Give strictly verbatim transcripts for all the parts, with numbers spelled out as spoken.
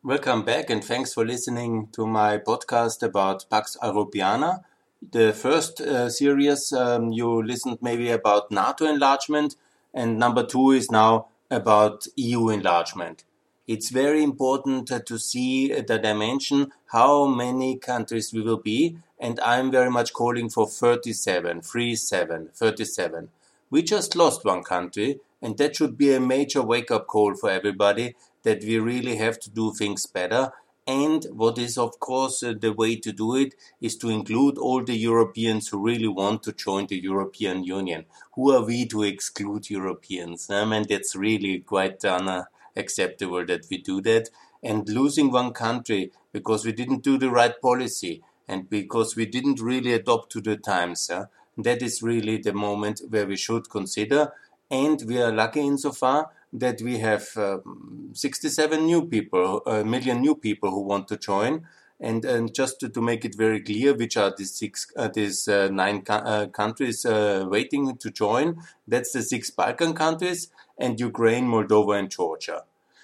Welcome back and thanks for listening to my podcast about Pax Europiana. The first uh, series um, you listened maybe about NATO enlargement, and number two is now about E U enlargement. It's very important uh, to see the dimension, how many countries we will be, and I'm very much calling for thirty-seven, three seven, thirty-seven. We just lost one country, and that should be a major wake-up call for everybody, that we really have to do things better. And what is, of course, uh, the way to do it is to include all the Europeans who really want to join the European Union. Who are we to exclude Europeans? I mean, that's really quite unacceptable that we do that. And losing one country because we didn't do the right policy and because we didn't really adopt to the times, uh, that is really the moment where we should consider. And we are lucky insofar that we have uh, sixty-seven new people, a million new people who want to join. And, and just to, to make it very clear, which are these six, uh, these uh, nine co- uh, countries uh, waiting to join, that's the six Balkan countries and Ukraine, Moldova, and Georgia.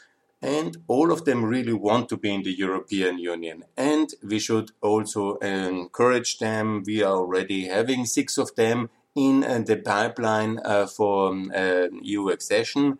And all of them really want to be in the European Union. And we should also encourage them. We are already having six of them in uh, the pipeline uh, for um, uh, E U accession.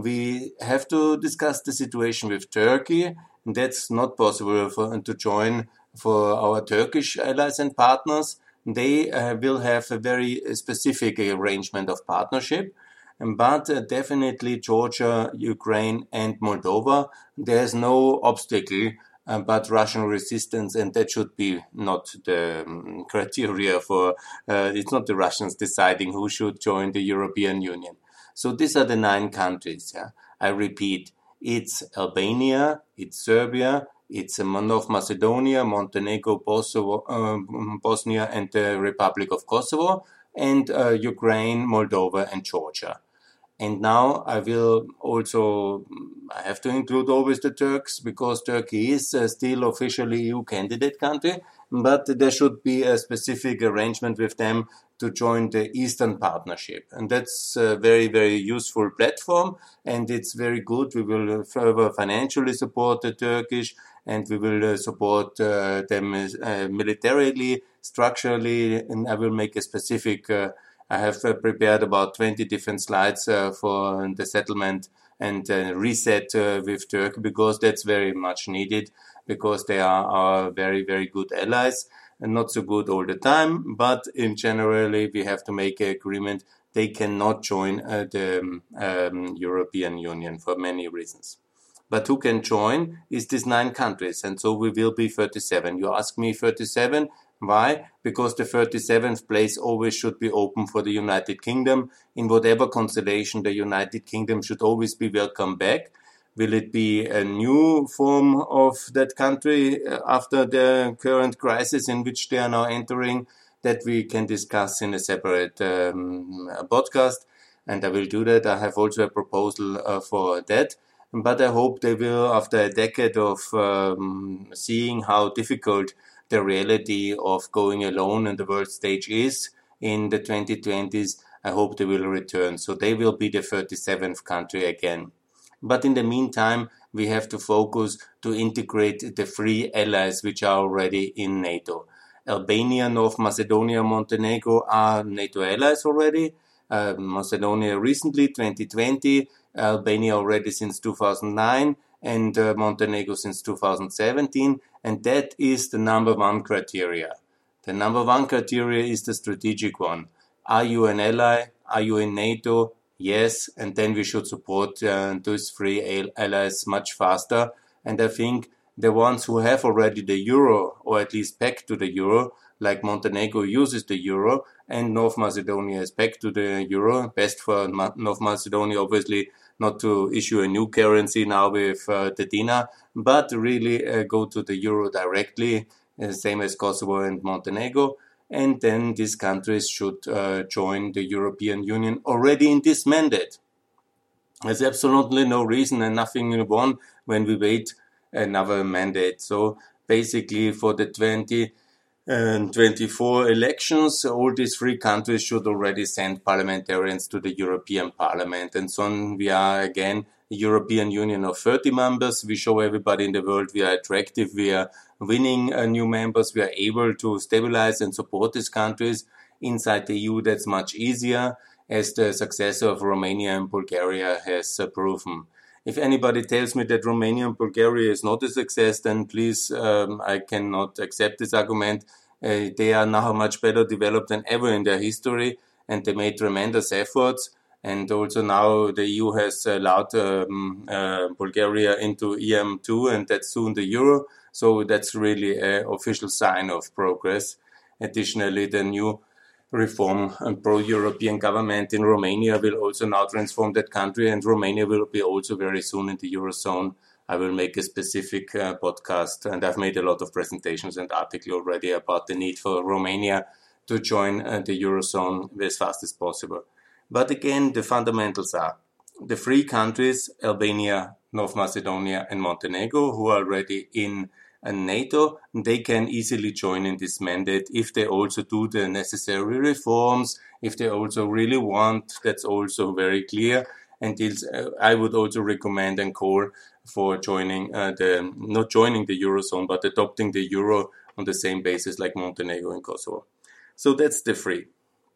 We have to discuss the situation with Turkey. That's not possible for, to join for our Turkish allies and partners. They uh, will have a very specific arrangement of partnership. But uh, definitely Georgia, Ukraine and Moldova, there's no obstacle uh, but Russian resistance, and that should be not the um, criteria for, uh, it's not the Russians deciding who should join the European Union. So these are the nine countries. Yeah? I repeat, it's Albania, it's Serbia, it's North Macedonia, Montenegro, Kosovo, uh, Bosnia and the Republic of Kosovo, and uh, Ukraine, Moldova and Georgia. And now I will also, I have to include always the Turks, because Turkey is uh, still officially E U candidate country, but there should be a specific arrangement with them to join the Eastern Partnership. And that's a very, very useful platform, and it's very good. We will further financially support the Turkish, and we will uh, support uh, them uh, militarily, structurally, and I will make a specific uh, I have uh, prepared about twenty different slides uh, for the settlement and uh, reset uh, with Turkey, because that's very much needed, because they are our very, very good allies, and not so good all the time, but in generally we have to make an agreement. They cannot join uh, the um, European Union for many reasons. But who can join is these nine countries, and so we will be thirty-seven. You ask me thirty-seven. Why? Because the thirty-seventh place always should be open for the United Kingdom. In whatever constellation, the United Kingdom should always be welcome back. Will it be a new form of that country after the current crisis in which they are now entering? That we can discuss in a separate um, podcast, and I will do that. I have also a proposal uh, for that. But I hope they will, after a decade of um, seeing how difficult the reality of going alone on the world stage is in the twenty twenties, I hope they will return. So they will be the thirty-seventh country again. But in the meantime, we have to focus to integrate the three allies which are already in NATO. Albania, North Macedonia, Montenegro are NATO allies already. Uh, Macedonia recently, twenty twenty, Albania already since two thousand nine, and uh, Montenegro since two thousand seventeen. And that is the number one criteria. The number one criteria is the strategic one. Are you an ally? Are you in NATO? Yes. And then we should support uh, those three allies much faster. And I think the ones who have already the euro, or at least pegged to the euro, like Montenegro uses the euro, and North Macedonia is pegged to the euro. Best for North Macedonia, obviously, not to issue a new currency now with uh, the dinar, but really uh, go to the euro directly, uh, same as Kosovo and Montenegro. And then these countries should uh, join the European Union already in this mandate. There's absolutely no reason and nothing won when we wait another mandate. So basically for the twenty twenty-four elections, all these three countries should already send parliamentarians to the European Parliament. And so we are again European Union of thirty members. We show everybody in the world we are attractive, we are winning uh, new members, we are able to stabilize and support these countries. Inside the E U, that's much easier, as the successor of Romania and Bulgaria has uh, proven. If anybody tells me that Romania and Bulgaria is not a success, then please, um, I cannot accept this argument. Uh, they are now much better developed than ever in their history, and they made tremendous efforts. And also now the E U has allowed um, uh, Bulgaria into E M two, and that's soon the Euro. So that's really an official sign of progress. Additionally, the new reform and pro-European government in Romania will also now transform that country, and Romania will be also very soon in the Eurozone. I will make a specific uh, podcast, and I've made a lot of presentations and articles already about the need for Romania to join uh, the Eurozone as fast as possible. But again, the fundamentals are the three countries, Albania, North Macedonia and Montenegro, who are already in and NATO, they can easily join in this mandate if they also do the necessary reforms, if they also really want. That's also very clear. And uh, I would also recommend and call for joining uh, the, not joining the Eurozone, but adopting the Euro on the same basis like Montenegro and Kosovo. So that's the three.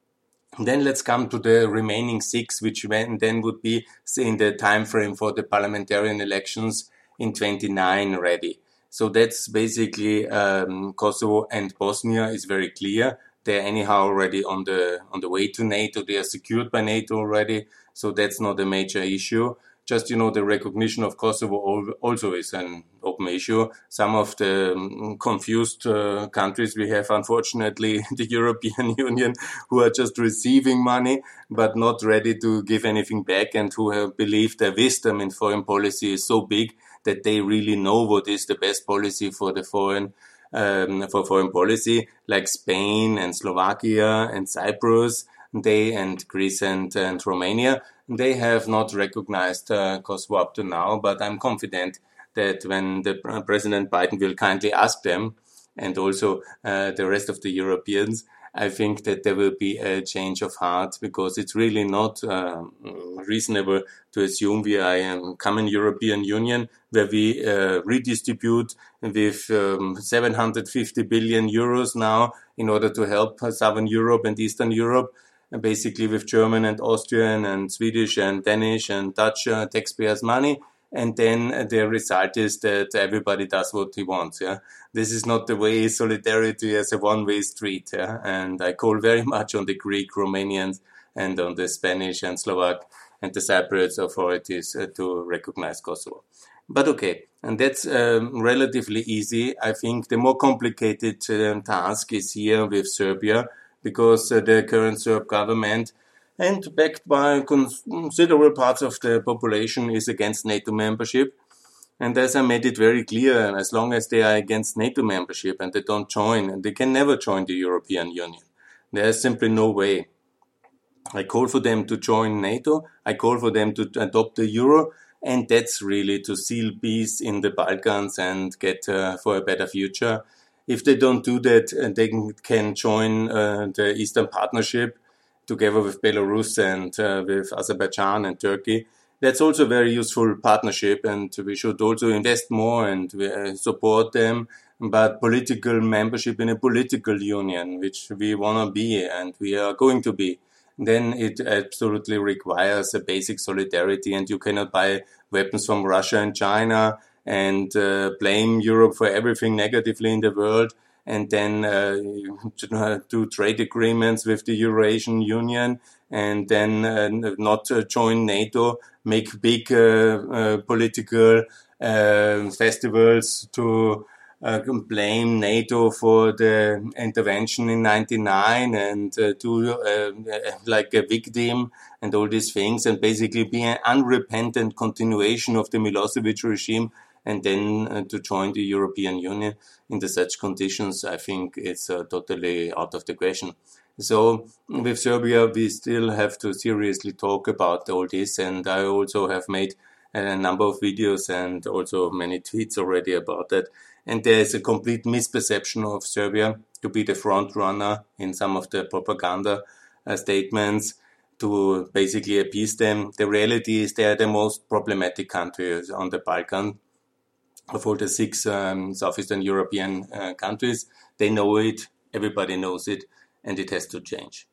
Then let's come to the remaining six, which then would be in the time frame for the parliamentarian elections in twenty-nine ready. So that's basically um, Kosovo and Bosnia is very clear. They're anyhow already on the on the way to NATO. They are secured by NATO already. So that's not a major issue. Just, you know, the recognition of Kosovo also is an open issue. Some of the um, confused uh, countries we have, unfortunately, the European Union, who are just receiving money, but not ready to give anything back, and who have believed their wisdom in foreign policy is so big that they really know what is the best policy for the foreign um, for foreign policy, like Spain and Slovakia and Cyprus, they and Greece and, and Romania. They have not recognized uh, Kosovo up to now, but I'm confident that when the uh, President Biden will kindly ask them, and also uh, the rest of the Europeans, I think that there will be a change of heart, because it's really not uh, reasonable to assume we are a common European Union where we uh, redistribute with um, seven hundred fifty billion euros now in order to help Southern Europe and Eastern Europe, basically with German and Austrian and Swedish and Danish and Dutch uh, taxpayers' money. And then the result is that everybody does what he wants. Yeah, this is not the way solidarity as a one-way street. Yeah, and I call very much on the Greek, Romanians, and on the Spanish and Slovak and the Cypriot authorities uh, to recognize Kosovo. But okay, and that's um, relatively easy. I think the more complicated um, task is here with Serbia, because uh, the current Serb government, and backed by considerable parts of the population, is against NATO membership. And as I made it very clear, as long as they are against NATO membership and they don't join, and they can never join the European Union, there is simply no way. I call for them to join NATO, I call for them to adopt the Euro, and that's really to seal peace in the Balkans and get uh, for a better future. If they don't do that, uh, they can join uh, the Eastern Partnership, together with Belarus and uh, with Azerbaijan and Turkey. That's also a very useful partnership, and we should also invest more and uh, support them. But political membership in a political union, which we want to be and we are going to be, then it absolutely requires a basic solidarity, and you cannot buy weapons from Russia and China and uh, blame Europe for everything negatively in the world, and then uh, do trade agreements with the Eurasian Union, and then uh, not uh, join NATO, make big uh, uh, political uh, festivals to uh, blame NATO for the intervention in ninety-nine and uh, do uh, like a victim and all these things, and basically be an unrepentant continuation of the Milosevic regime, and then uh, to join the European Union in such conditions, I think it's uh, totally out of the question. So with Serbia, we still have to seriously talk about all this, and I also have made a number of videos and also many tweets already about that. And there is a complete misperception of Serbia to be the front runner in some of the propaganda uh, statements. to basically appease them. The reality is they are the most problematic countries on the Balkan of all the six um, Southeastern European uh, countries. They know it, everybody knows it, and it has to change.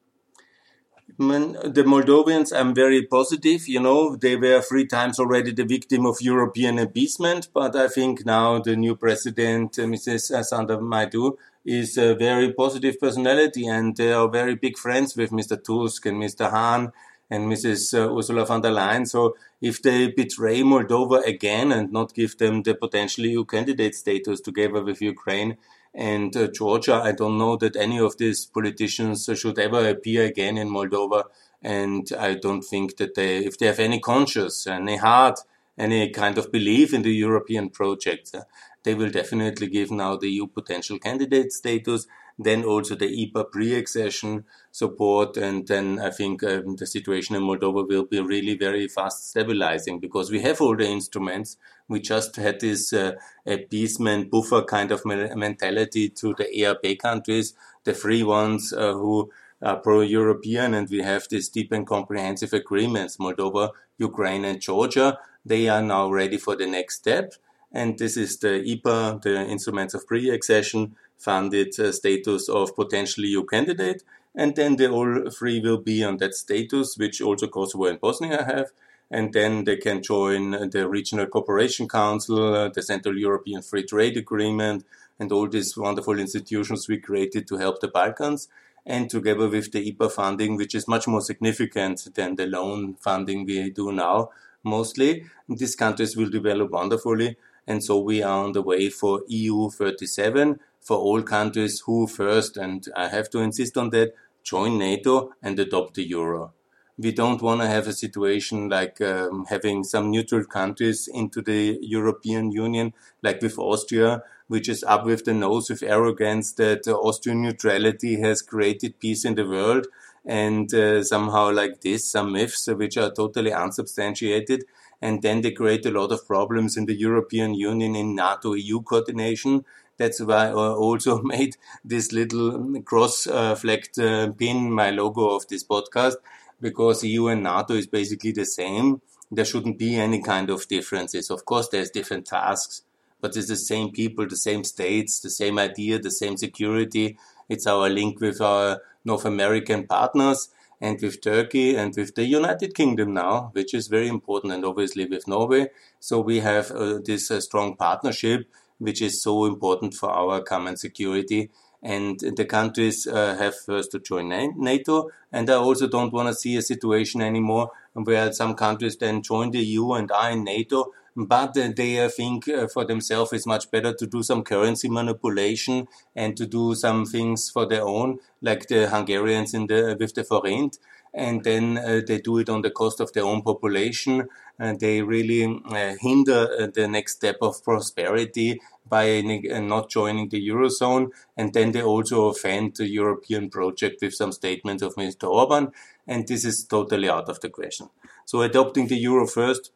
The Moldovians, I'm very positive. You know, they were three times already the victim of European appeasement, but I think now the new president, uh, Missus Sanda Maidu, is a very positive personality, and they are very big friends with Mister Tusk and Mister Hahn and Missus Uh, Ursula von der Leyen. So if they betray Moldova again and not give them the potential E U candidate status together with Ukraine and uh, Georgia, I don't know that any of these politicians should ever appear again in Moldova. And I don't think that they, if they have any conscience, any heart, any kind of belief in the European project, uh, they will definitely give now the E U potential candidate status, then also the E P A pre-accession support, and then I think um, the situation in Moldova will be really very fast stabilizing, because we have all the instruments. We just had this uh, appeasement buffer kind of mentality to the E R P countries, the free ones uh, who are pro-European, and we have these deep and comprehensive agreements, Moldova, Ukraine and Georgia. They are now ready for the next step. And this is the E P A, the Instruments of Pre-Accession Funded uh, Status of Potential E U Candidate. And then they all three will be on that status, which also Kosovo and Bosnia have. And then they can join the Regional Cooperation Council, uh, the Central European Free Trade Agreement, and all these wonderful institutions we created to help the Balkans. And together with the E P A funding, which is much more significant than the loan funding we do now, mostly, these countries will develop wonderfully. And so we are on the way for E U thirty-seven, for all countries who first, and I have to insist on that, join NATO and adopt the euro. We don't want to have a situation like um, having some neutral countries into the European Union, like with Austria, which is up with the nose with arrogance that uh, Austrian neutrality has created peace in the world, and uh, somehow like this, some myths uh, which are totally unsubstantiated. And then they create a lot of problems in the European Union in NATO E U coordination. That's why I also made this little cross-flagged uh, pin, my logo of this podcast, because E U and NATO is basically the same. There shouldn't be any kind of differences. Of course, there's different tasks, but it's the same people, the same states, the same idea, the same security. It's our link with our North American partners, and with Turkey and with the United Kingdom now, which is very important, and obviously with Norway. So we have uh, this uh, strong partnership, which is so important for our common security. And the countries uh, have first to join NATO. And I also don't want to see a situation anymore where some countries then join the E U and are in NATO, but uh, they uh, think uh, for themselves it's much better to do some currency manipulation and to do some things for their own, like the Hungarians in the with the forint. And then uh, they do it on the cost of their own population, and they really uh, hinder uh, the next step of prosperity by uh, not joining the Eurozone. And then they also offend the European project with some statements of Mister Orban, and this is totally out of the question. So adopting the Euro first,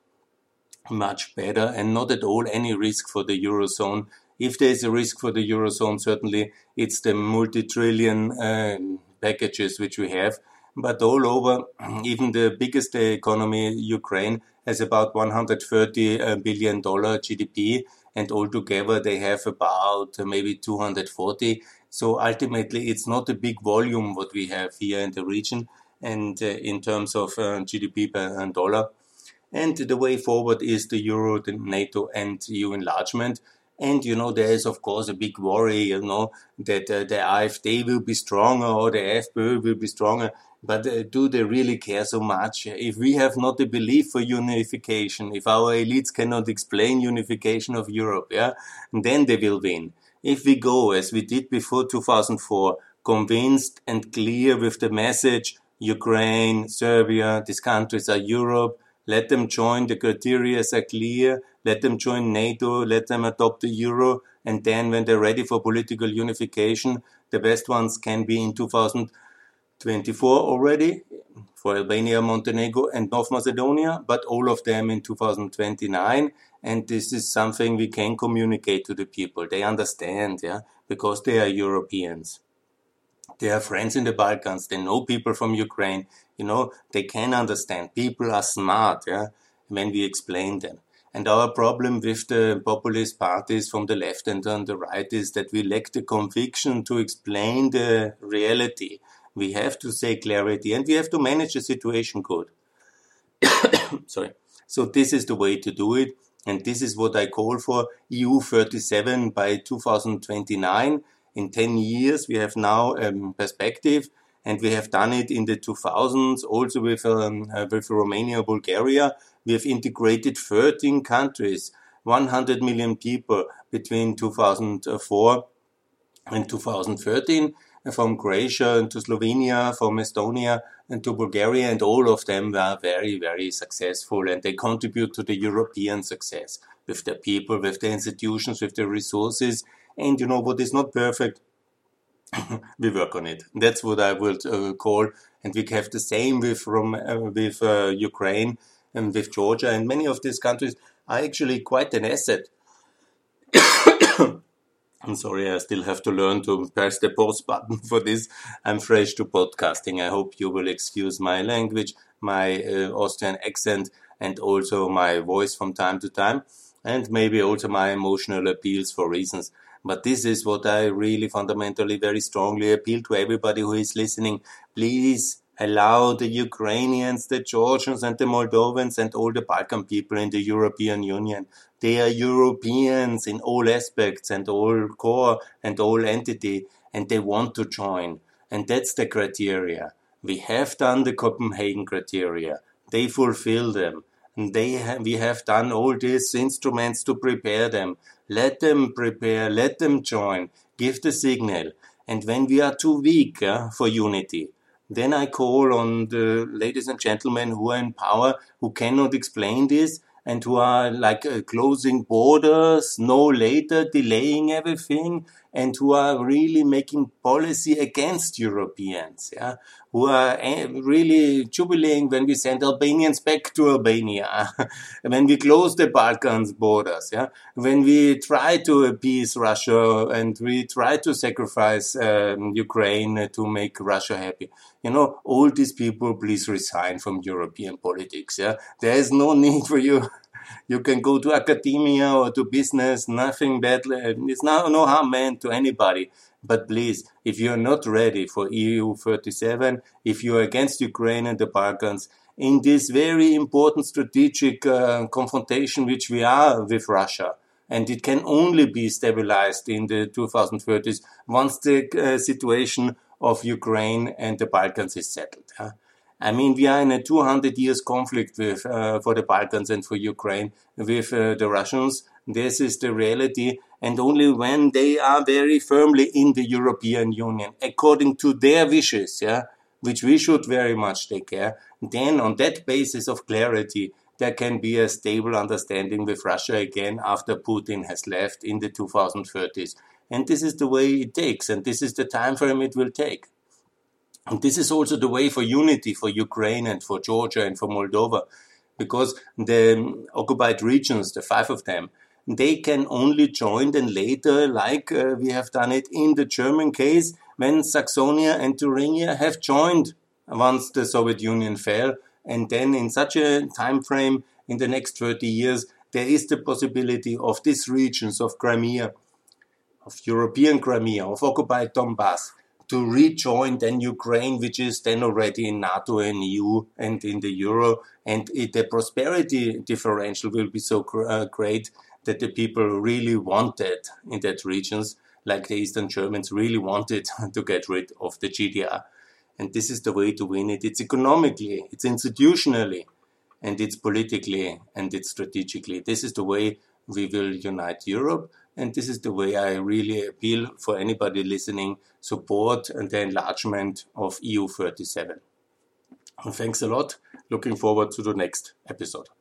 much better, and not at all any risk for the Eurozone. If there is a risk for the Eurozone, certainly it's the multi-trillion uh, packages which we have. But all over, even the biggest economy, Ukraine, has about one hundred thirty billion dollars G D P, and altogether they have about maybe two hundred forty. So ultimately, it's not a big volume what we have here in the region, and uh, in terms of uh, G D P per dollar. And the way forward is the Euro, the NATO, and E U enlargement. And, you know, there is, of course, a big worry, you know, that uh, the AfD will be stronger or the FPÖ will be stronger. But uh, do they really care so much? If we have not a belief for unification, if our elites cannot explain unification of Europe, yeah, then they will win. If we go, as we did before two thousand four, convinced and clear with the message, Ukraine, Serbia, these countries are Europe, let them join, the criteria are clear, let them join NATO, let them adopt the euro, and then when they're ready for political unification, the best ones can be in two thousand twenty-four already, for Albania, Montenegro, and North Macedonia, but all of them in two thousand twenty-nine, and this is something we can communicate to the people. They understand, yeah, because they are Europeans. They have friends in the Balkans, they know people from Ukraine. You know, they can understand. People are smart, yeah, when we explain them. And our problem with the populist parties from the left and on the right is that we lack the conviction to explain the reality. We have to say clarity, and we have to manage the situation good. Sorry. So this is the way to do it, and this is what I call for E U thirty-seven by two thousand twenty-nine. In ten years, we have now a um, perspective, and we have done it in the two thousands, also with, um, uh, with Romania, Bulgaria. We have integrated thirteen countries, one hundred million people between two thousand four and two thousand thirteen, from Croatia to Slovenia, from Estonia and to Bulgaria, and all of them were very, very successful, and they contribute to the European success with the people, with the institutions, with the resources. And you know what is not perfect? We work on it. That's what I would uh, call, and we have the same with from uh, with uh, Ukraine and with Georgia, and many of these countries are actually quite an asset. I'm sorry, I still have to learn to press the pause button for this. I'm fresh to podcasting. I hope you will excuse my language, my uh, Austrian accent, and also my voice from time to time, and maybe also my emotional appeals for reasons. But this is what I really fundamentally very strongly appeal to everybody who is listening. Please allow the Ukrainians, the Georgians and the Moldovans and all the Balkan people in the European Union. They are Europeans in all aspects and all core and all entity, and they want to join. And that's the criteria. We have done the Copenhagen criteria. They fulfill them. And they have, we have done all these instruments to prepare them. Let them prepare, let them join, give the signal. And when we are too weak uh, for unity, then I call on the ladies and gentlemen who are in power, who cannot explain this, and who are like uh, closing borders, no later, delaying everything, and who are really making policy against Europeans, yeah, who are uh, really jubilating when we send Albanians back to Albania, when we close the Balkans borders, yeah, when we try to appease Russia and we try to sacrifice um, Ukraine to make Russia happy. You know, all these people, please resign from European politics, yeah. There is no need for you. You can go to academia or to business, nothing bad. It's no, no harm meant to anybody. But please, if you're not ready for E U thirty-seven, if you're against Ukraine and the Balkans, in this very important strategic uh, confrontation which we are with Russia, and it can only be stabilized in the two thousand thirties once the uh, situation of Ukraine and the Balkans is settled. Huh? I mean, we are in a two hundred years conflict with, uh, for the Balkans and for Ukraine with uh, the Russians. This is the reality. And only when they are very firmly in the European Union, according to their wishes, yeah, which we should very much take care, then on that basis of clarity, there can be a stable understanding with Russia again after Putin has left in the two thousand thirties. And this is the way it takes, and this is the time frame it will take. And this is also the way for unity for Ukraine and for Georgia and for Moldova, because the occupied regions, the five of them, they can only join then later, like uh, we have done it in the German case, when Saxonia and Thuringia have joined once the Soviet Union fell. And then in such a time frame, in the next thirty years, there is the possibility of these regions of Crimea, of European Crimea, of occupied Donbass, to rejoin then Ukraine, which is then already in NATO and E U and in the Euro. And it, the prosperity differential will be so uh, great that the people really wanted in that regions, like the Eastern Germans really wanted to get rid of the G D R. And this is the way to win it. It's economically, it's institutionally, and it's politically, and it's strategically. This is the way we will unite Europe. And this is the way I really appeal for anybody listening, support the enlargement of E U thirty-seven. And thanks a lot. Looking forward to the next episode.